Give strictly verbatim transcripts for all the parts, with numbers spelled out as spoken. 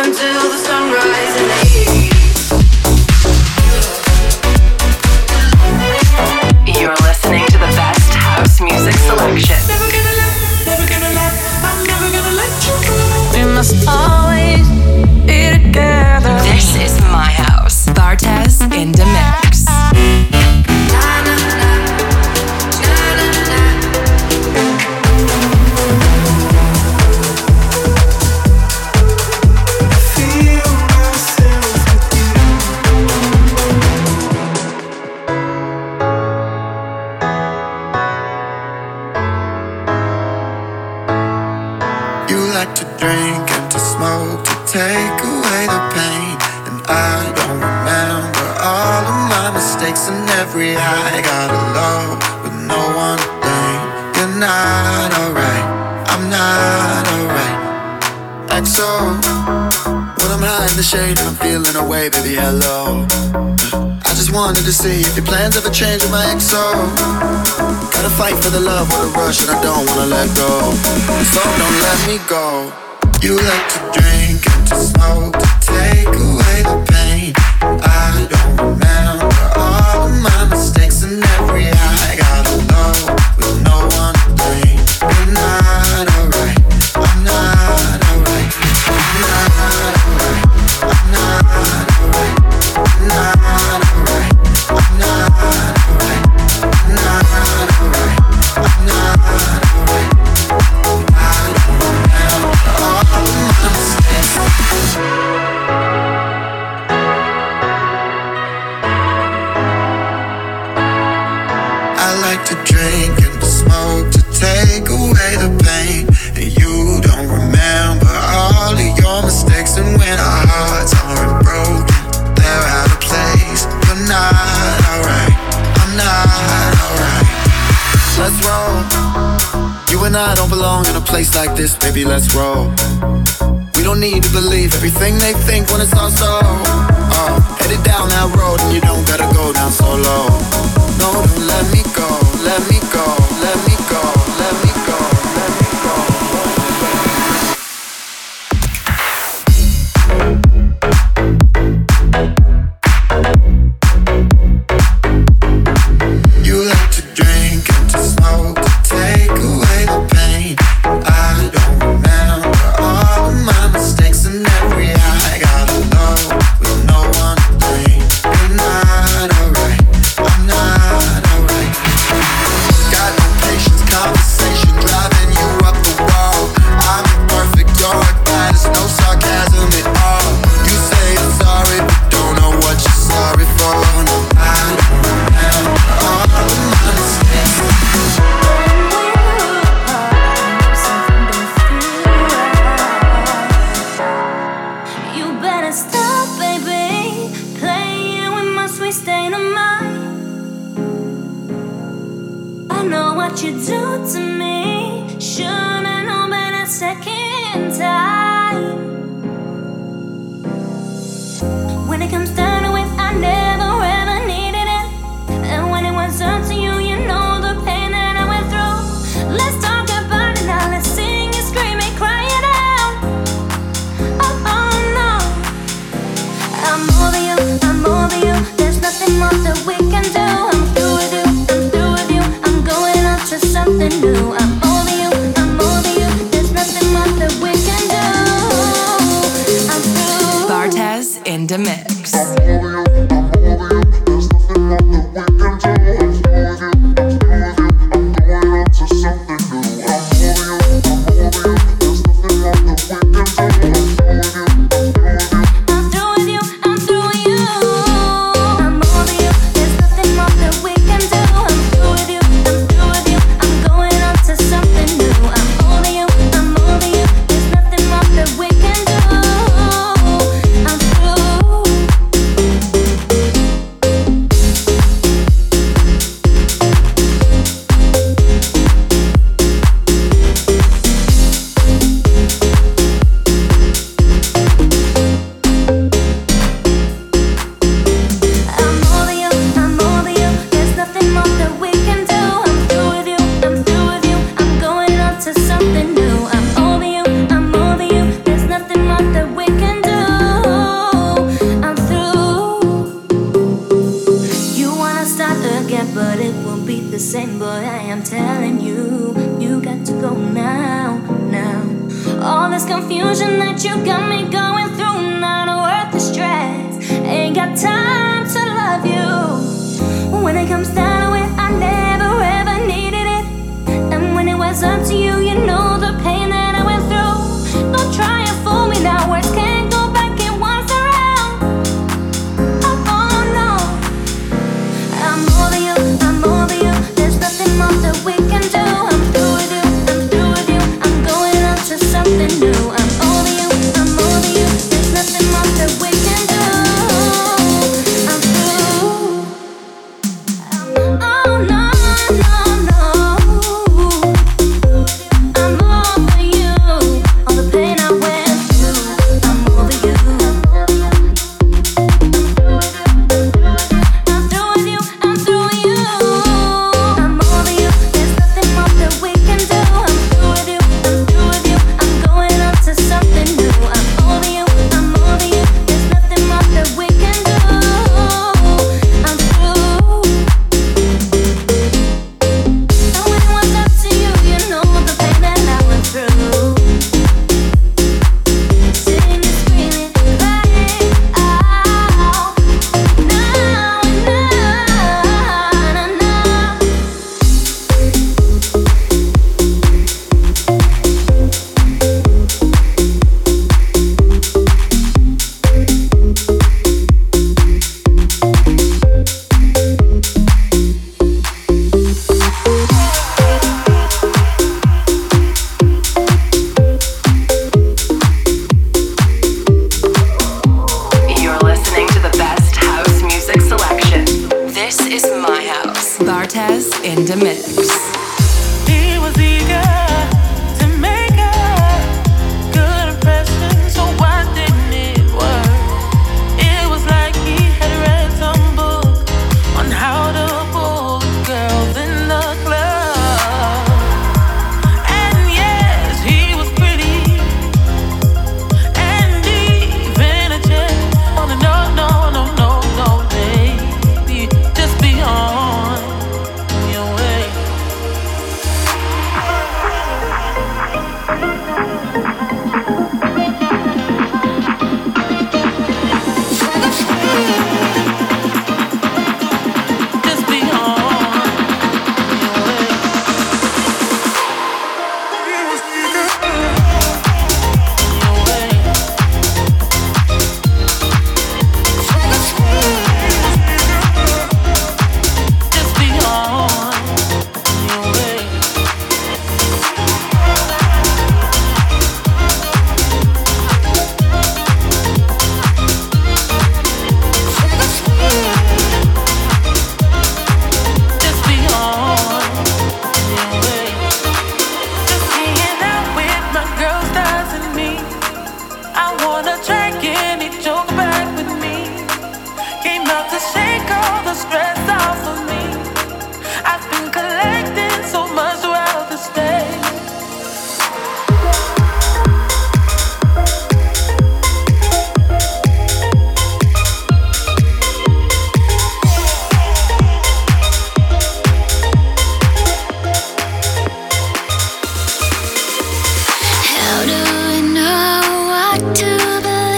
until the sunrise in the east. You're listening to the best house music selection. Never gonna let, never gonna let, I'm never gonna let you go. We must always be together. This is my house. Bartez in the mix. Drink and to smoke to take away the pain. And I don't remember all of my mistakes and every I got alone with no one to blame. You're not alright, I'm not alright. X O, when I'm high in the shade and I'm feeling away, baby, hello. I just wanted to see if your plans ever change with my X O. Gotta fight for the love with a rush and I don't wanna let go. So don't let me go. You like to drink and to smoke to take away the pain. I don't remember all of my mistakes and every I got alone with no one to blame. You're not alright, I'm not alright, I'm not alright, I'm not alright, I'm not alright, I'm not alright, I'm not alright, I'm not alright. I don't remember all of my mistakes. I like to drink and to smoke to take away the pain. And you don't remember all of your mistakes. And when our hearts aren't broken, they're out of place. You're not alright, I'm not alright. Let's roll. You and I don't belong in a place like this, baby, let's roll. We don't need to believe everything they think when it's all so. Uh, headed down that road and you don't gotta go down so low. No, don't let me go, let me go, let me go, let me go, let me go. You like to drink and to smoke to take away the pain. I don't remember all of my mistakes and every I got alone with no one to blame. You're not alright, I'm not alright. Got no patience, conversation driving you up the wall. I'm imperfect, you're a guy, there's no sarcasm at all. You say you're sorry, but don't know what you're sorry for. No, I don't remember all of my mistakes. You better stop, baby, playing with my sweet state of mind. I know what you do to me. Should've known better second time. When it comes down to it, I never ever needed it. And when it was up to you, you know the pain that I went through. Let's talk about it now. Let's sing and scream and cry it out. Oh, oh no, I'm over you, I'm over you. There's nothing more that we can do. I'm through with you, I'm through with you. I'm going on to something new. I'm over you, I'm over you. There's nothing more that we can do. I'm through. Bartez in the mix. I'm through with you, I'm through with you. I'm over you. There's nothing more that we can do. I'm through with you, I'm through with you. I'm going on to something new. I'm over you, I'm over you. There's nothing more that we can do. I'm through. confusion that you got me going through. Not worth the stress. Ain't got time to love you. When it comes down to it, I never ever needed it. And when it was up to you, you know the pain that I went through. Don't try and fool me now. Words can't go back in once around. Oh, oh no. I'm over you, I'm over you. There's nothing more that we can do. I'm through with you, I'm through with you. I'm going on to something new. I'm over you, I'm over you. There's nothing more that we can do. I'm through. Oh no, no, no. I'm over you. All the pain I went through. I'm over you. I'm through with you, I'm through with you. I'm over you. There's nothing more that we can do. I'm through with you, I'm through with you. I'm going on to something new. I'm over you, I'm over you. There's nothing more that we can do. I'm through. And when it was up to you, you know the pain that I went through. Singing, screaming, crying out. Now and now, You're listening to the best house music selection. This is my house. Bartez in the mix. He was eager to make a good impression, so why didn't it work? It was like he had read some book on how to pull girls in the club. And yes, he was pretty and even a jet. Oh, no, no, no, no, no, baby, just be on your way. Just be on your way. Your way. Just be on your way. Just be on your way. Just hanging out with my girls doesn't mean I wanna drag any joke back with me. Came out to shake all the stress off of me. I've been collecting so much throughout the day. how do I know what to believe?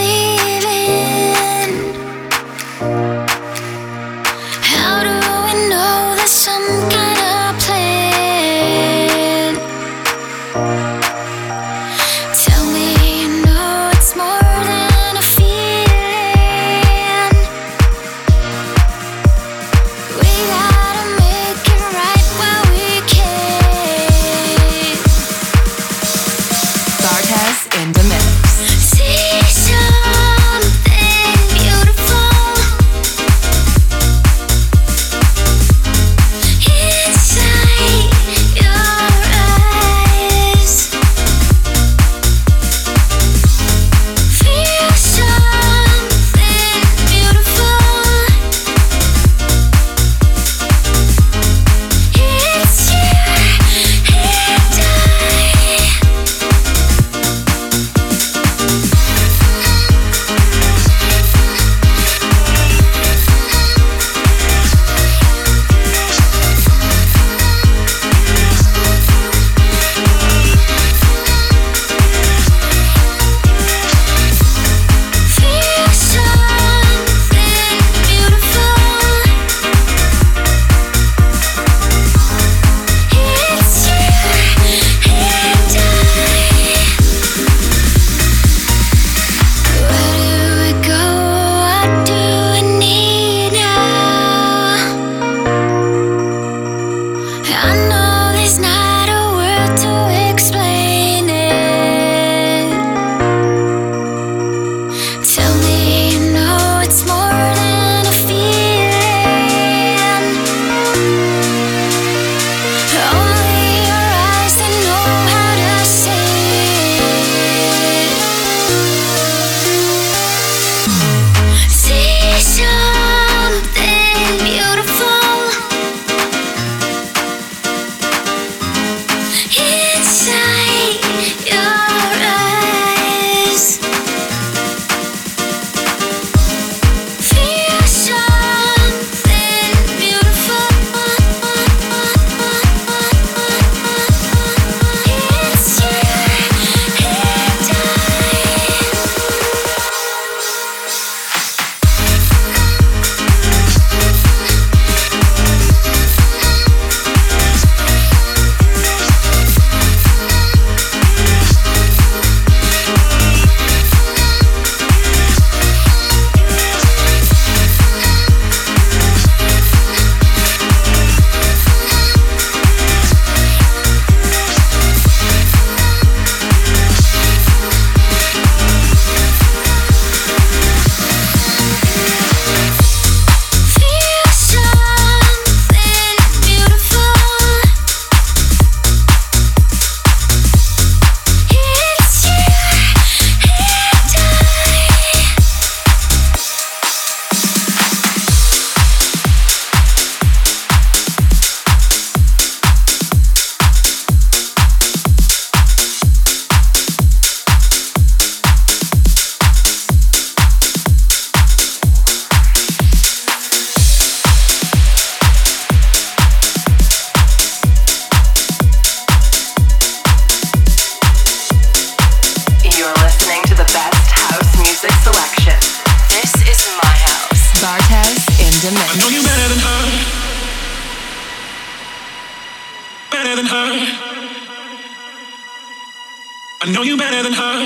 I know you better than her.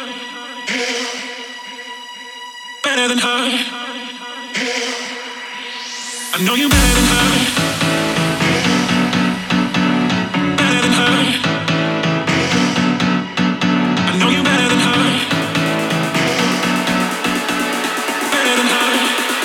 Better than her. I know you better than her. Better than her. I know you better than her. Better than her.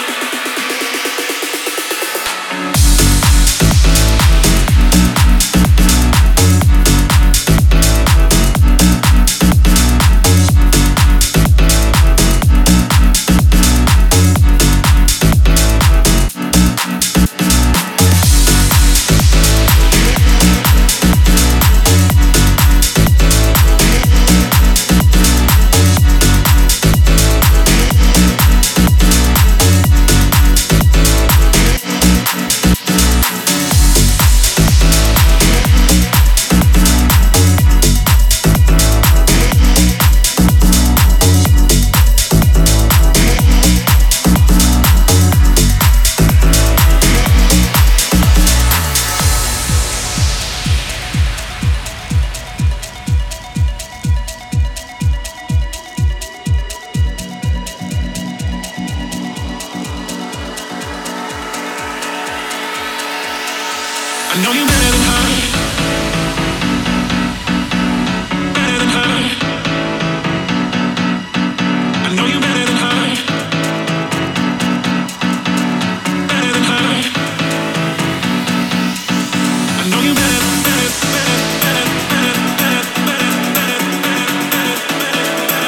I know you better than her. Better than her. I know you better than her. Better than her. I know you better, better, better, better, better, better, better, better, better,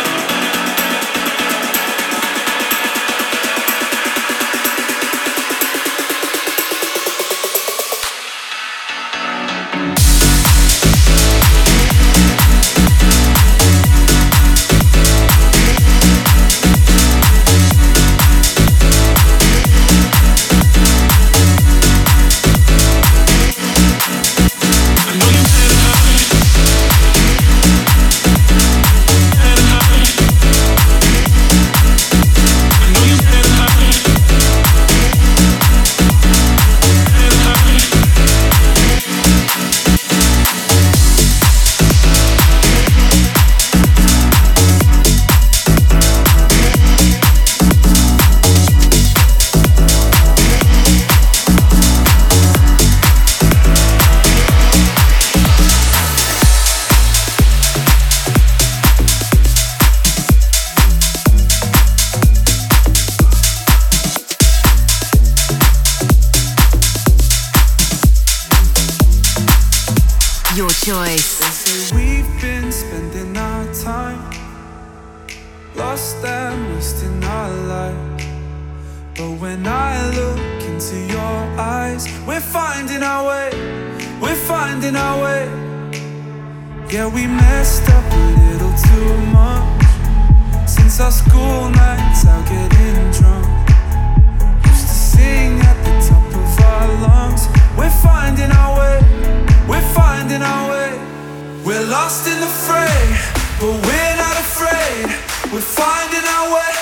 choice. They say we've been spending our time lost and wasting our life, but when I look into your eyes, we're finding our way, we're finding our way. Yeah, we messed up a little too much since our school nights out getting drunk. Used to sing at the top of our lungs. We're finding our way, we're finding our way. We're lost in the fray, but we're not afraid. We're finding our way.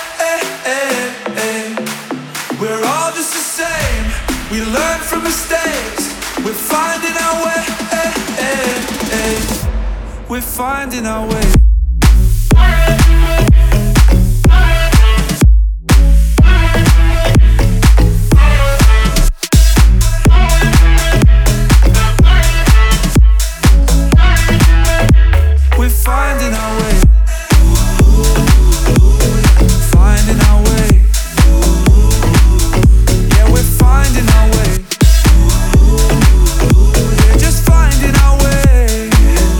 We're all just the same. We learn from mistakes. We're finding our way. We're finding our way. We're finding our way. Finding our way. Yeah, we're finding our way. We're just finding our way.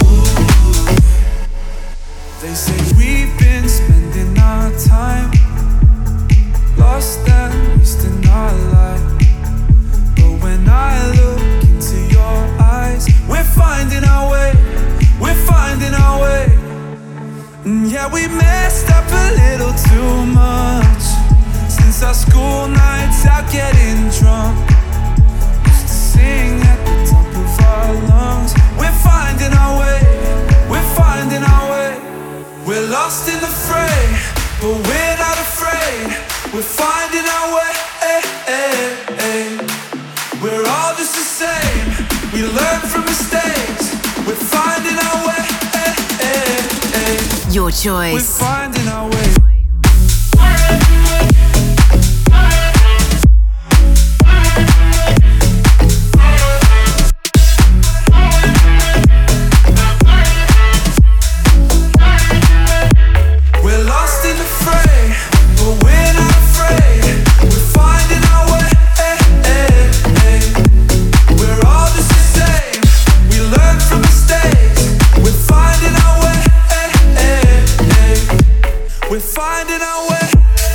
They say we've been spending our time lost and wasting our life, but when I look into your eyes, we're finding our way. We're finding our way. Mm, yeah, we messed up a little too much since our school nights out getting drunk. Used to sing at the top of our lungs. We're finding our way. We're finding our way. We're lost in the fray, but we're not afraid. We're finding our way. We're all just the same. We learn from mistakes. We're finding our way. Your We're choice. finding our way. We're lost in the fray, but we're not afraid. We're finding our way. We're all just the same. We learn from mistakes. We're finding our way. We're finding our way.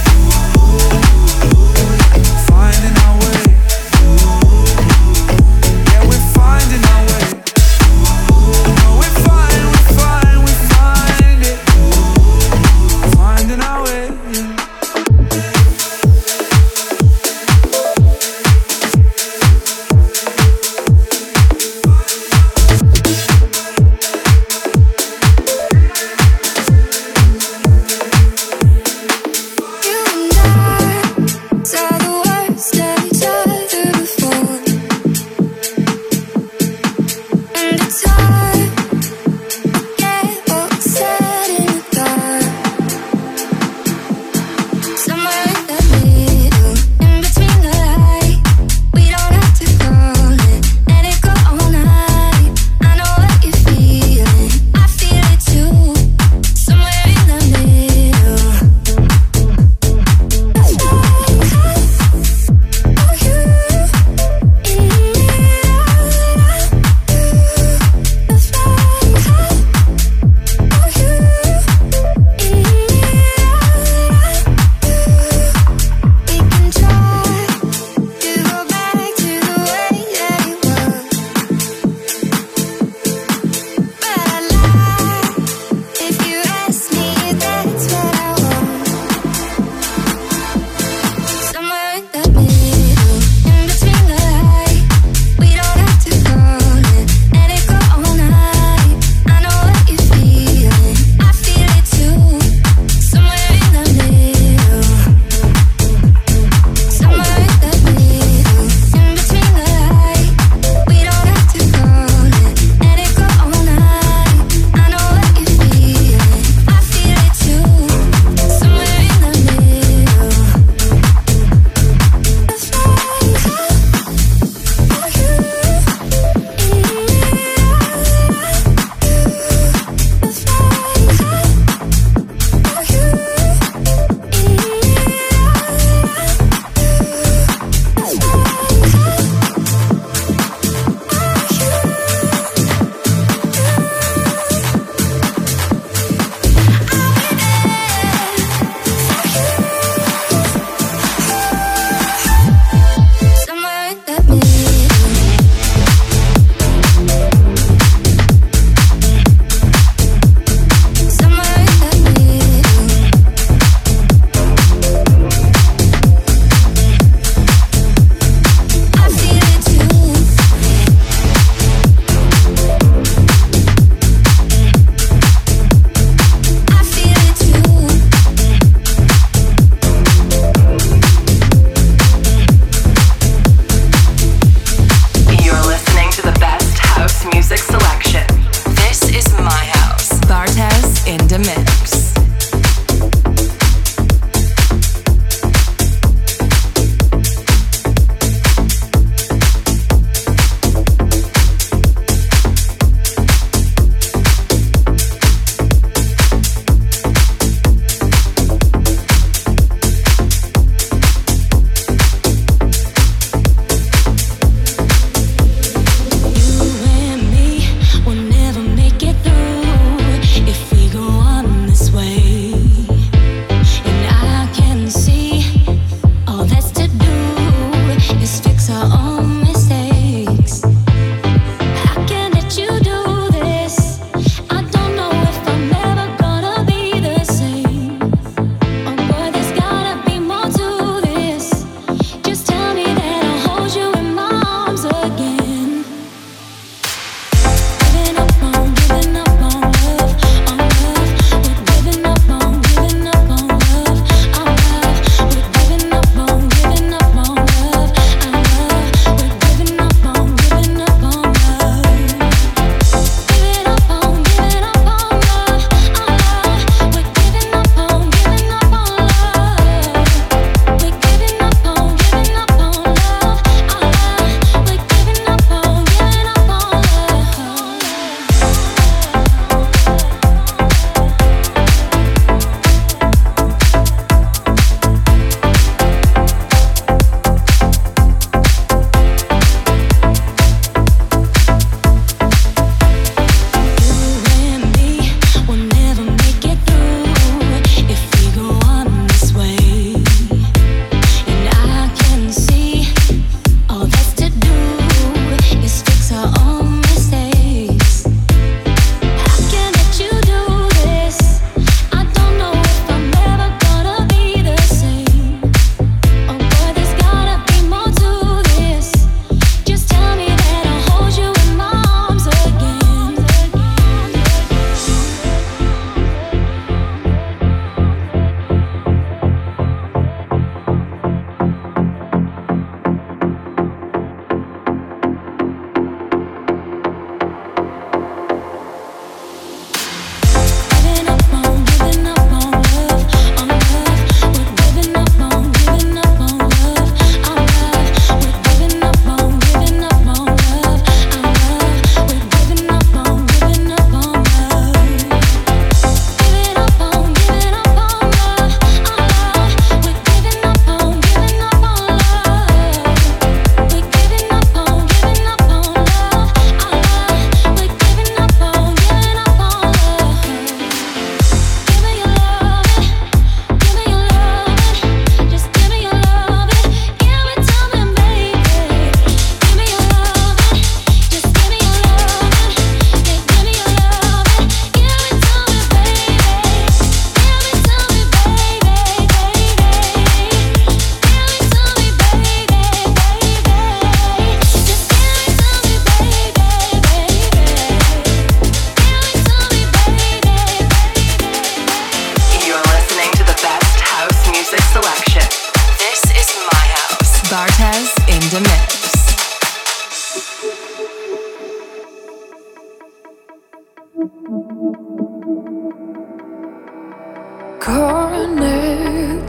Finding our way. Yeah, we're finding our way. No, we're fine, we're fine, we find it. Finding our way. You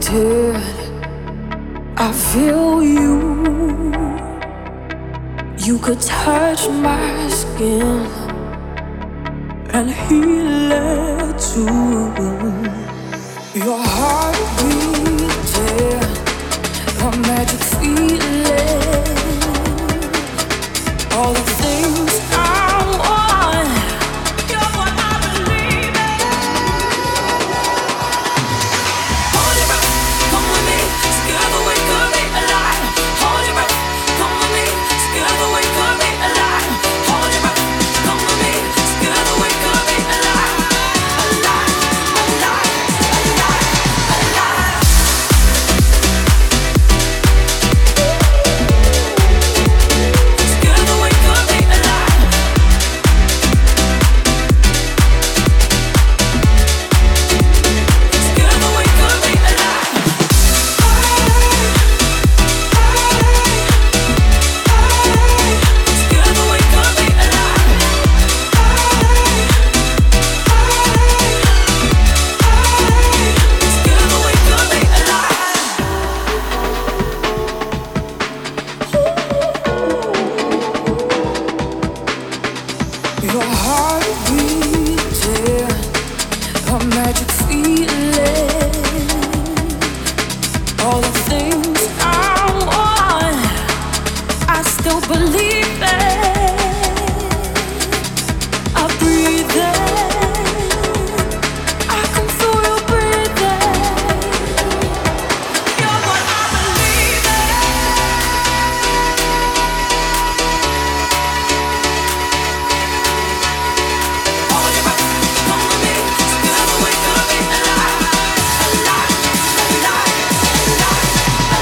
did. I feel you. You could touch my skin and heal it too. Your heart beating, a magic feeling. All the things I want, you're what I believe in. Hold your breath, come with me. Together we could be alive. Hold your breath, come with me. Together we could be alive. Hold your breath, come with me. Together we could be alive. Alive, alive, alive, alive. Together we could be alive. Together we could be alive. Together we could be alive. Together we could be alive. Your heart beating, a magic feeling. All the things I want, I still believe in. I breathe in, I can feel you breathing. You're what I believe in. Hold your breath, come with me. Together we could be alive. Alive, alive, alive,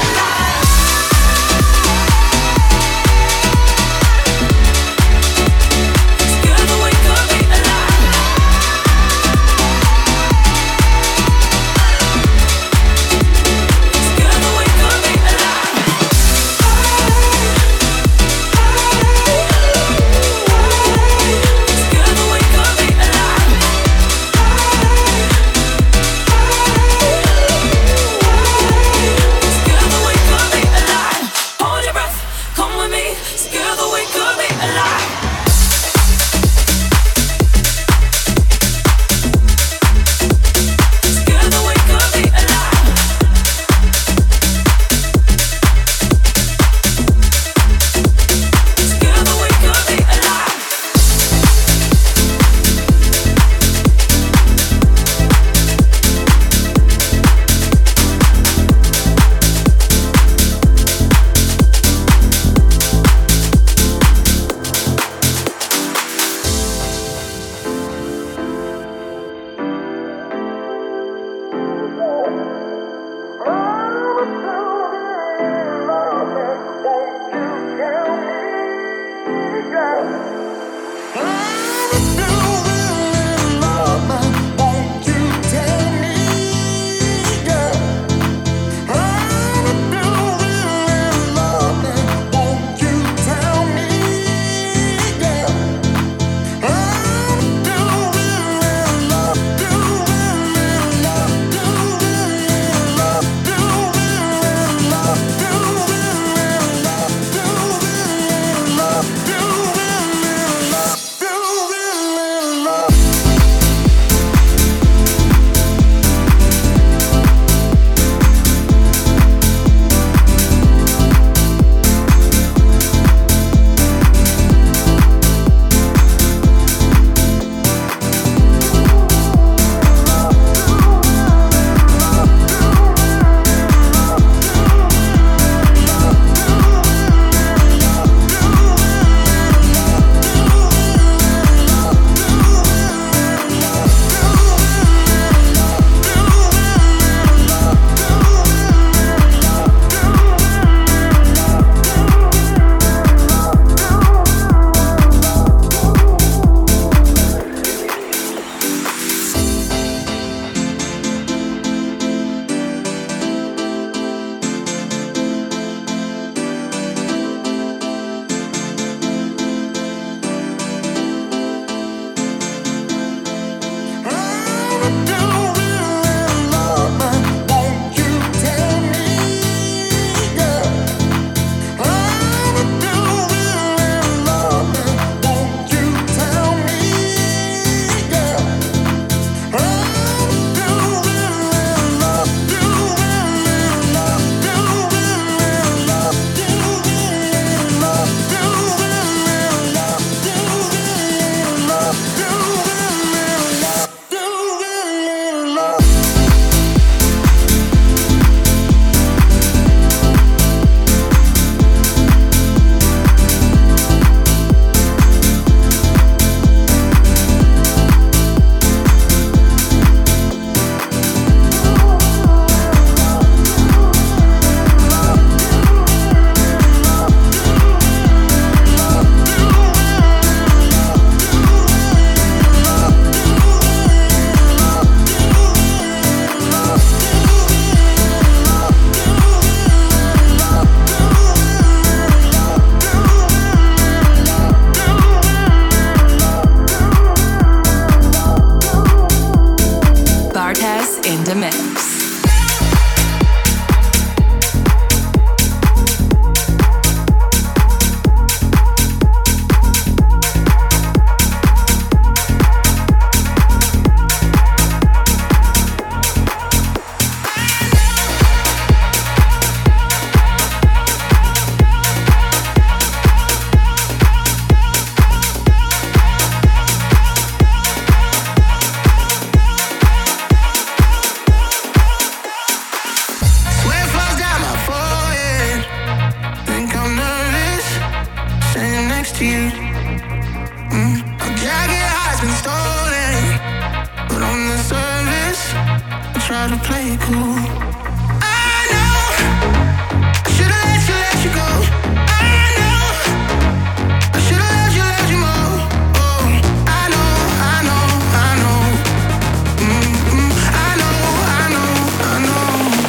to you. Mm. My jacket has been stolen, but on the surface, I try to play it cool. I know I should've let you, let you go. I know I should've let you, let you know. Oh, I know, I know, I know. Mm-mm. I know, I know, I know.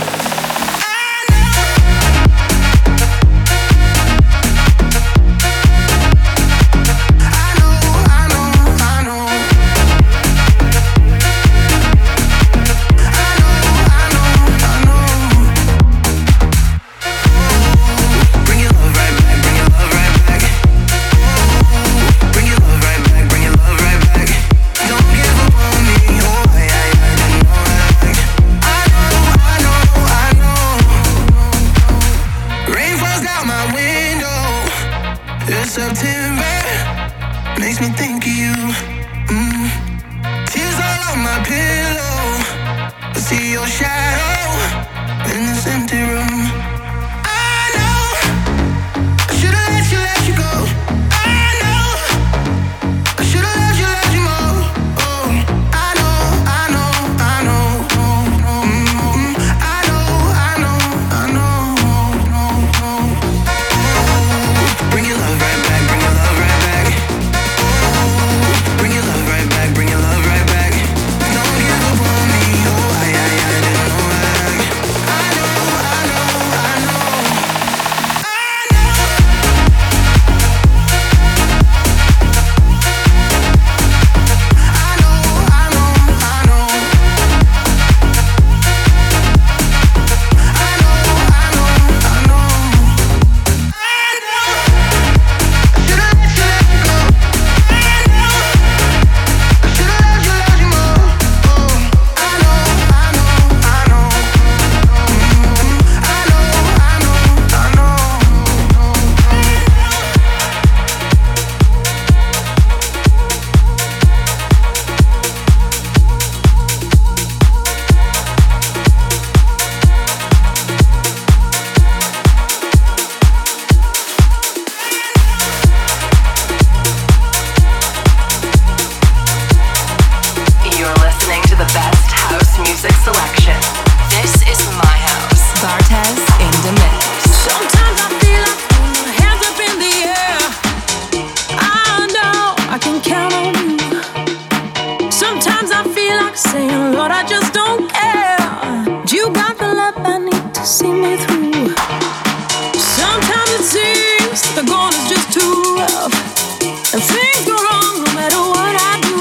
September makes me think of you. Mm. Tears all on my pillow. I see your shadow in this empty room. I know I should've let you, let you go. I know I should've let you, let you know. Oh, I know, I know, I know. Mm-hmm. I know, I know, I know. Oh, bring your love right back. Bring your love right back. Bring your love right back. Bring your love right back. Don't give up on me. Oh, I, I, I didn't know that. I know, I know, I know. I know. I know, I know, I know. I know, I know, I know. I know. Should've let you, let you go. I know. I should've let you, let you know. Oh, I know, I know, I know. Mm-hmm. I know, I know, I know. You're listening to the best house music selection. This is my house. Bartez in the mix. Sometimes I feel like throwing my hands up in the air. I know I can count on you. Sometimes I feel like saying, Lord, I just don't care. You got the love I need to see me through. Sometimes it seems the going is just too rough, and things go wrong no matter what I do.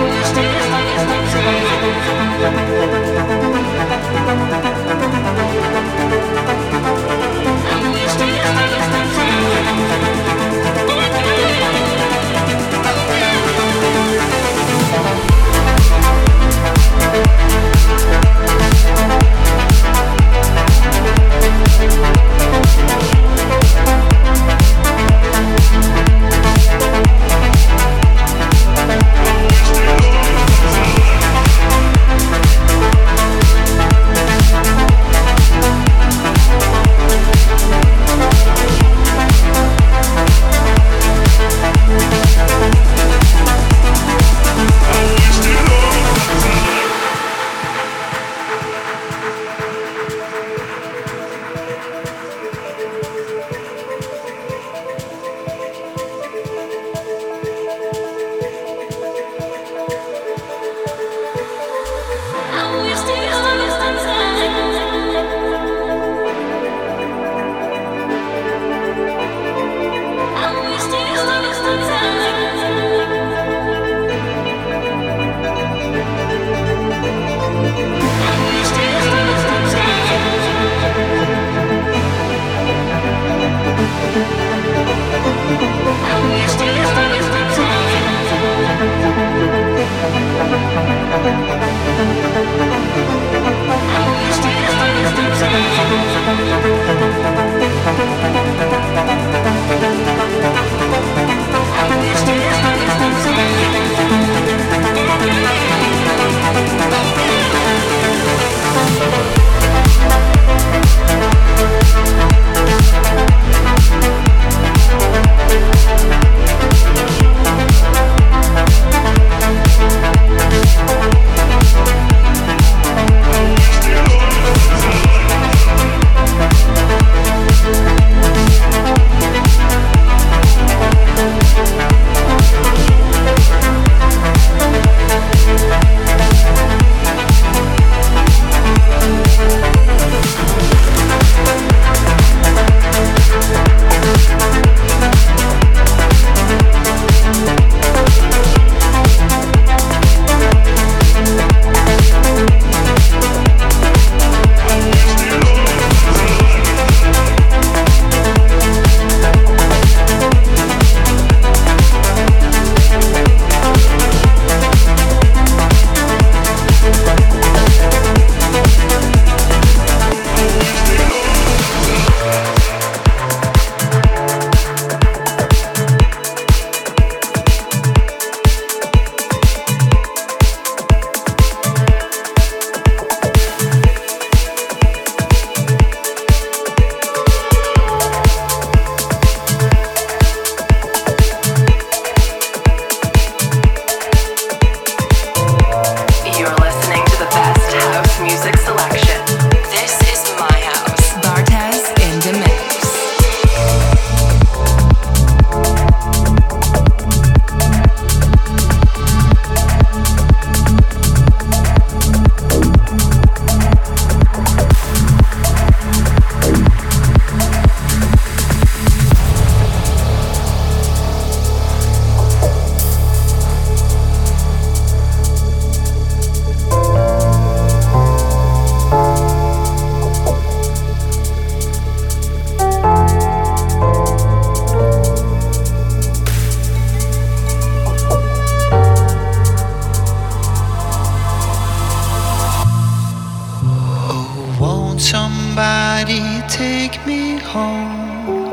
take me home.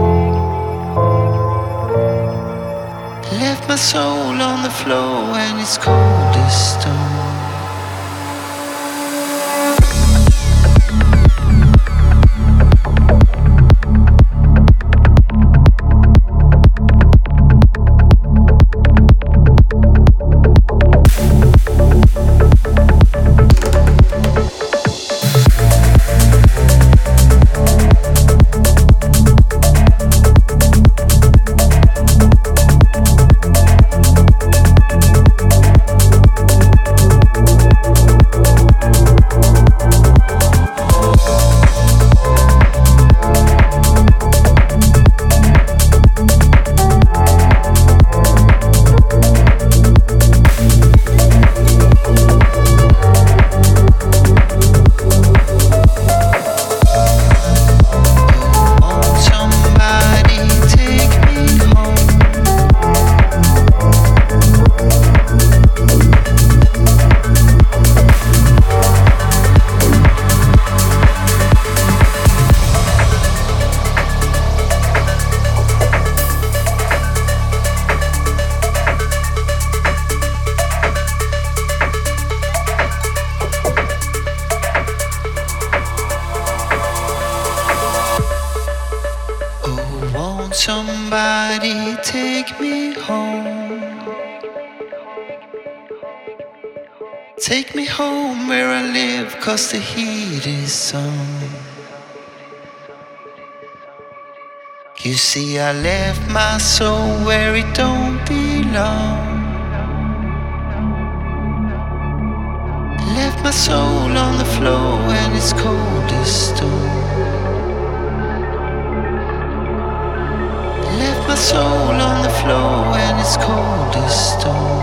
Left my soul on the floor and it's cold as stone. We'll be right back. Somebody take me home. Take me home where I live, 'cause the heat is on. You see, I left my soul where it don't belong. Left my soul on the floor and it's cold as stone. Left my soul on the floor and it's cold as stone.